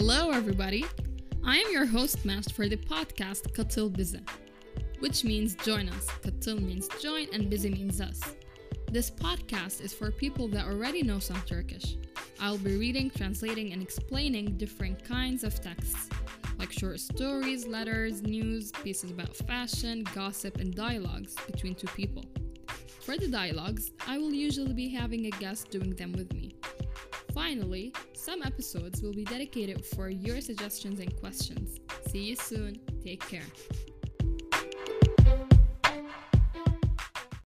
Hello, everybody. I am your host, Mash, for the podcast Katıl Bize, which means join us. Katıl means join and Bize means us. This podcast is for people that already know some Turkish. I'll be reading, translating, and explaining different kinds of texts, like short stories, letters, news, pieces about fashion, gossip, and dialogues between two people. For the dialogues, I will usually be having a guest doing them with me. Finally, some episodes will be dedicated for your suggestions and questions. See you soon. Take care.